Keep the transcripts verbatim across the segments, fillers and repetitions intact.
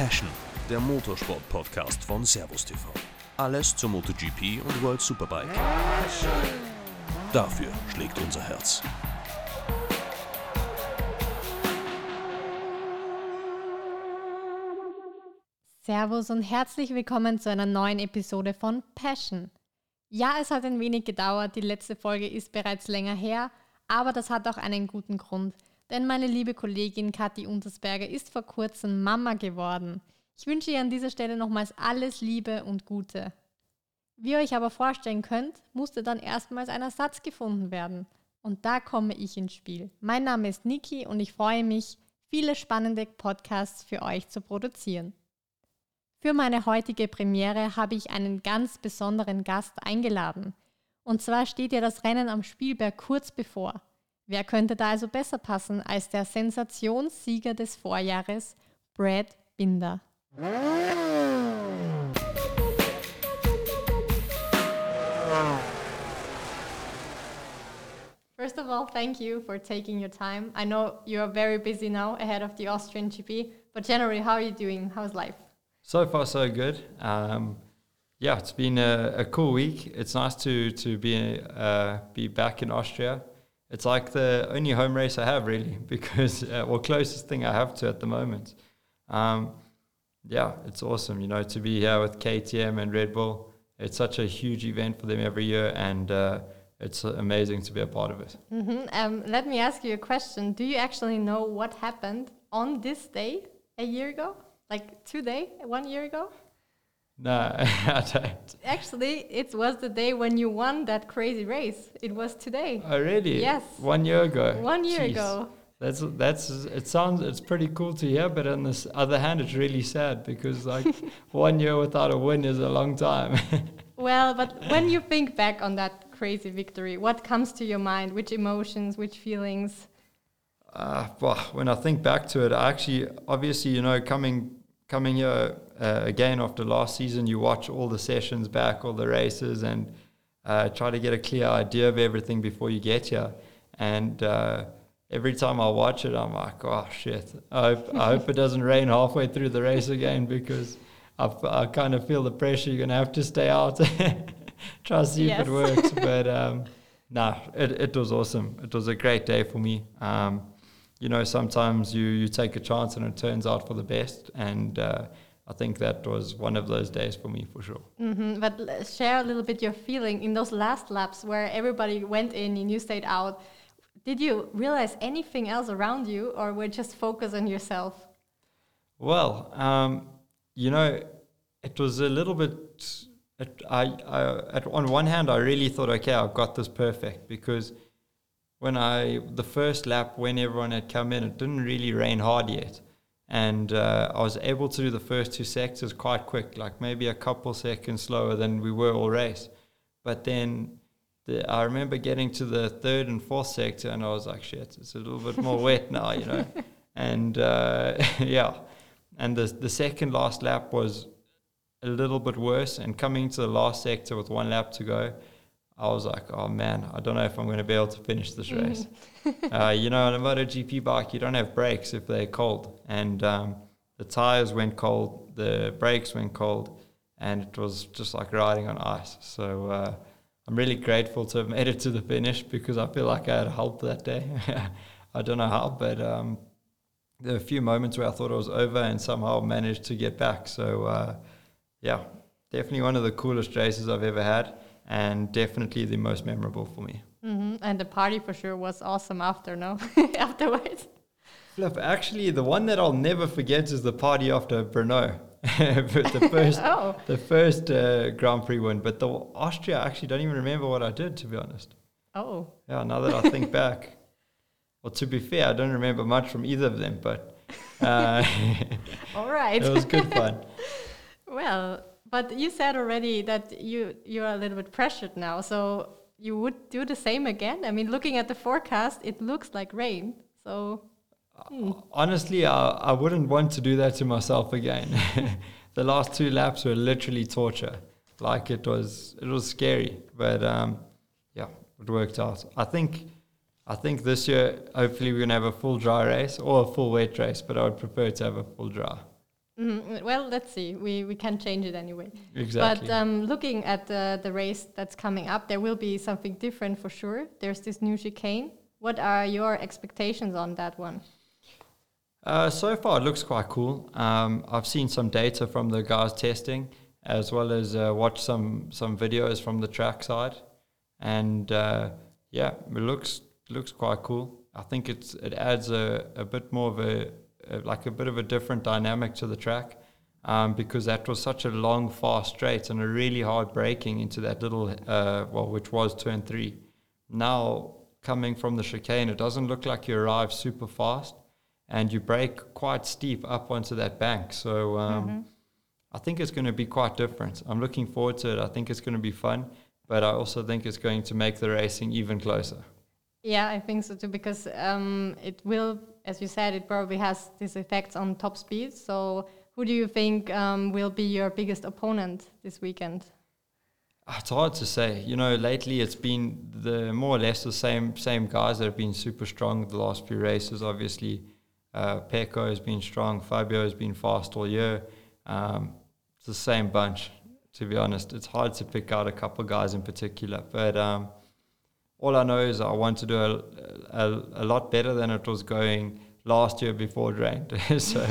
Passion, der Motorsport-Podcast von Servus T V. Alles zur MotoGP und World Superbike. Dafür schlägt unser Herz. Servus und herzlich willkommen zu einer neuen Episode von Passion. Ja, es hat ein wenig gedauert, die letzte Folge ist bereits länger her, aber das hat auch einen guten Grund, denn meine liebe Kollegin Kathi Untersberger ist vor kurzem Mama geworden. Ich wünsche ihr an dieser Stelle nochmals alles Liebe und Gute. Wie ihr euch aber vorstellen könnt, musste dann erstmals ein Ersatz gefunden werden. Und da komme ich ins Spiel. Mein Name ist Niki und ich freue mich, viele spannende Podcasts für euch zu produzieren. Für meine heutige Premiere habe ich einen ganz besonderen Gast eingeladen. Und zwar steht ja das Rennen am Spielberg kurz bevor. Wer könnte da also besser passen als der Sensationssieger des Vorjahres, Brad Binder? First of all, thank you for taking your time. I know you are very busy now ahead of the Austrian G P, but generally, how are you doing? How's life? So far, so good. Um, yeah, it's been a, a cool week. It's nice to to be uh, be back in Austria. It's like the only home race I have, really, because uh, well, closest thing I have to at the moment. Um, yeah, it's awesome, you know, to be here with K T M and Red Bull. It's such a huge event for them every year, and uh, it's amazing to be a part of it. Mm-hmm. Um, let me ask you a question. Do you actually know what happened on this day a year ago? Like today, one year ago? No, I don't. Actually, it was the day when you won that crazy race. It was today. Oh, really? Yes. One year ago. One year Jeez. ago. That's that's. It sounds. It's pretty cool to hear, but on this other hand, it's really sad because like one year without a win is a long time. Well, but when you think back on that crazy victory, what comes to your mind? Which emotions? Which feelings? Uh, well, when I think back to it, I actually, obviously, you know, coming coming here uh, again after last season, you watch all the sessions back, all the races, and uh, try to get a clear idea of everything before you get here. And uh, every time I watch it, I'm like, oh shit! I hope, I hope it doesn't rain halfway through the race again, because I, I kind of feel the pressure. You're gonna have to stay out, try to see yes. if it works. But um, nah, it it was awesome. It was a great day for me. Um, You know, sometimes you, you take a chance and it turns out for the best. And uh, I think that was one of those days for me, for sure. Mm-hmm. But share a little bit your feeling in those last laps where everybody went in and you stayed out. Did you realize anything else around you, or were just focus on yourself? Well, um, you know, it was a little bit... It, I, I at, on one hand, I really thought, okay, I've got this perfect, because... When I, the first lap, when everyone had come in, it didn't really rain hard yet. And uh, I was able to do the first two sectors quite quick, like maybe a couple seconds slower than we were all race. But then the, I remember getting to the third and fourth sector and I was like, shit, it's a little bit more wet now, you know. And uh, yeah, and the, the second last lap was a little bit worse. And coming to the last sector with one lap to go, I was like, oh man, I don't know if I'm going to be able to finish this race. uh, you know, on a MotoGP bike, you don't have brakes if they're cold. And um, the tires went cold, the brakes went cold, and it was just like riding on ice. So uh, I'm really grateful to have made it to the finish, because I feel like I had help that day. I don't know how, but um, there were a few moments where I thought it was over and somehow managed to get back. So uh, yeah, definitely one of the coolest races I've ever had. And definitely the most memorable for me. Mm-hmm. And the party for sure was awesome after, no? Afterwards. Flip, actually, the one that I'll never forget is the party after Brno. the first, oh. the first uh, Grand Prix win. But the Austria, I actually don't even remember what I did, to be honest. Oh. Yeah, now that I think back. Well, to be fair, I don't remember much from either of them, but... Uh, all right. It was good fun. Well... But you said already that you, you are a little bit pressured now, so you would do the same again? I mean, looking at the forecast, it looks like rain, so... Hmm. Honestly, I, I wouldn't want to do that to myself again. The last two laps were literally torture. Like, it was it was scary, but um, yeah, it worked out. I think I think this year, hopefully we're going to have a full dry race or a full wet race, but I would prefer to have a full dry. Mm, well, let's see. We we can change it anyway. Exactly. But um, looking at the the race that's coming up, there will be something different for sure. There's this new chicane. What are your expectations on that one? Uh, so far, it looks quite cool. Um, I've seen some data from the guys testing, as well as uh, watched some some videos from the track side, and uh, yeah, it looks looks quite cool. I think it's it adds a, a bit more of a, a like a bit of a different dynamic to the track, um, because that was such a long, fast straight and a really hard braking into that little uh, well, which was turn three. Now coming from the chicane, it doesn't look like you arrive super fast, and you brake quite steep up onto that bank. So um, mm-hmm. I think it's going to be quite different. I'm looking forward to it. I think it's going to be fun, but I also think it's going to make the racing even closer. Yeah, I think so too, because um, it will, as you said, it probably has these effects on top speed. So who do you think um, will be your biggest opponent this weekend? It's hard to say. You know, lately it's been the more or less the same same guys that have been super strong the last few races. Obviously, uh, Pecco has been strong. Fabio has been fast all year. Um, it's the same bunch, to be honest. It's hard to pick out a couple guys in particular. But um, all I know is I want to do a, a, a lot better than it was going last year before it rained. so,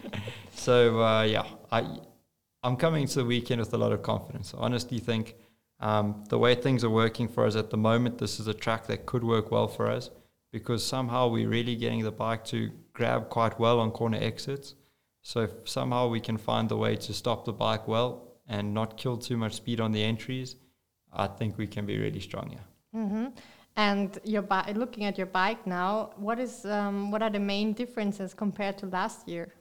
so uh, yeah, I... I'm coming to the weekend with a lot of confidence. I honestly think um, the way things are working for us at the moment, this is a track that could work well for us, because somehow we're really getting the bike to grab quite well on corner exits. So if somehow we can find the way to stop the bike well and not kill too much speed on the entries, I think we can be really strong, yeah. Mm-hmm. And your bi- looking at your bike now, what is um, what are the main differences compared to last year?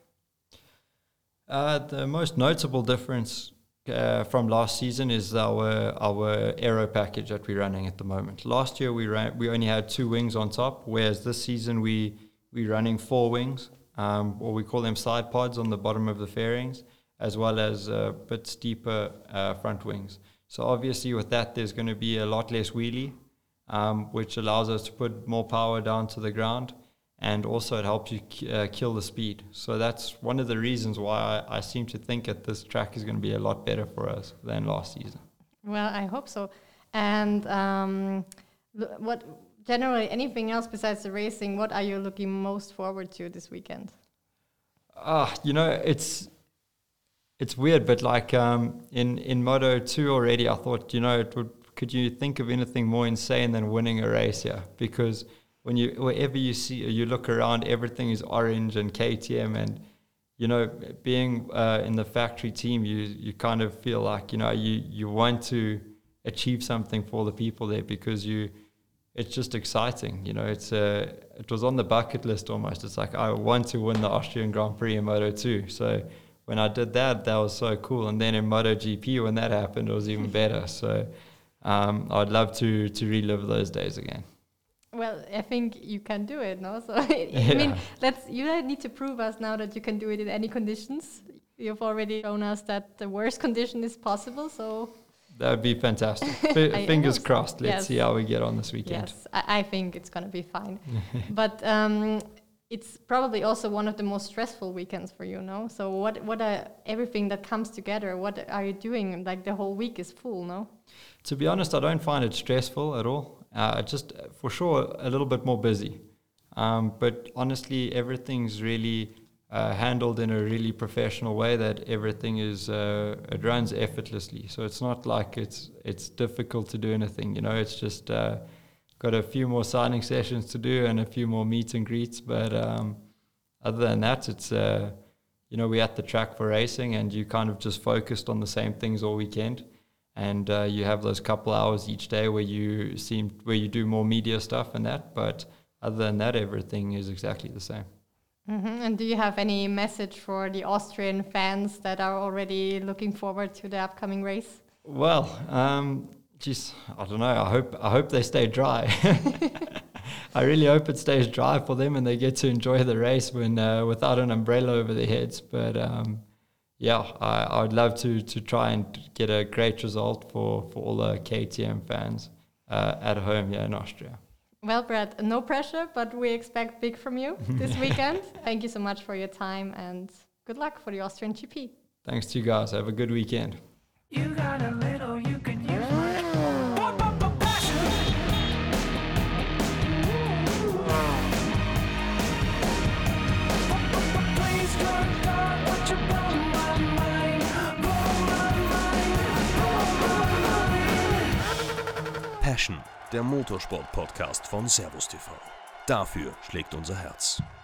Uh, the most notable difference uh, from last season is our our aero package that we're running at the moment. Last year we ran we only had two wings on top, whereas this season we we're running four wings, um, or we call them side pods on the bottom of the fairings, as well as a bit steeper uh, front wings. So obviously with that there's going to be a lot less wheelie, um, which allows us to put more power down to the ground. And also it helps you uh, kill the speed. So that's one of the reasons why I, I seem to think that this track is going to be a lot better for us than last season. Well, I hope so. And um, what generally anything else besides the racing, what are you looking most forward to this weekend? Ah, you know, it's it's weird, but like um, in in Moto two already, I thought, you know, it would. Could you think of anything more insane than winning a race here? Because when you, wherever you see, you look around, everything is orange and K T M, and you know, being uh, in the factory team, you you kind of feel like, you know, you you want to achieve something for the people there, because you, it's just exciting, you know. It's uh, it was on the bucket list almost. It's like, I want to win the Austrian Grand Prix in Moto two. So when I did that, that was so cool. And then in MotoGP, when that happened, it was even better. So um, I'd love to to relive those days again. Well, I think you can do it, no? So I yeah. mean, let's. You don't need to prove us now that you can do it in any conditions. You've already shown us that the worst condition is possible. So that would be fantastic. F- fingers crossed. Let's yes. see how we get on this weekend. Yes, I, I think it's going to be fine. But um, it's probably also one of the most stressful weekends for you, no? So what? What are everything that comes together? What are you doing? Like the whole week is full, no? To be honest, I don't find it stressful at all. Uh, just for sure a little bit more busy, um, but honestly everything's really uh, handled in a really professional way, that everything is uh, it runs effortlessly. So it's not like it's it's difficult to do anything, you know. It's just uh, got a few more signing sessions to do and a few more meet and greets, but um, other than that, it's uh, you know, we're at the track for racing, and you kind of just focused on the same things all weekend. And uh, you have those couple hours each day where you seem where you do more media stuff and that. But other than that, everything is exactly the same. Mm-hmm. And do you have any message for the Austrian fans that are already looking forward to the upcoming race? Well, um, geez, I don't know. I hope I hope they stay dry. I really hope it stays dry for them and they get to enjoy the race when uh, without an umbrella over their heads. But um, yeah, I, I would love to to try and get a great result for, for all the K T M fans uh, at home here in Austria. Well, Brad, no pressure, but we expect big from you this weekend. Thank you so much for your time and good luck for the Austrian G P. Thanks to you guys. Have a good weekend. You got a little you could use my passion. Please, good God, won't you blow my mind, blow my mind, blow my mind. Passion, der Motorsport-Podcast von Servus T V. Dafür schlägt unser Herz.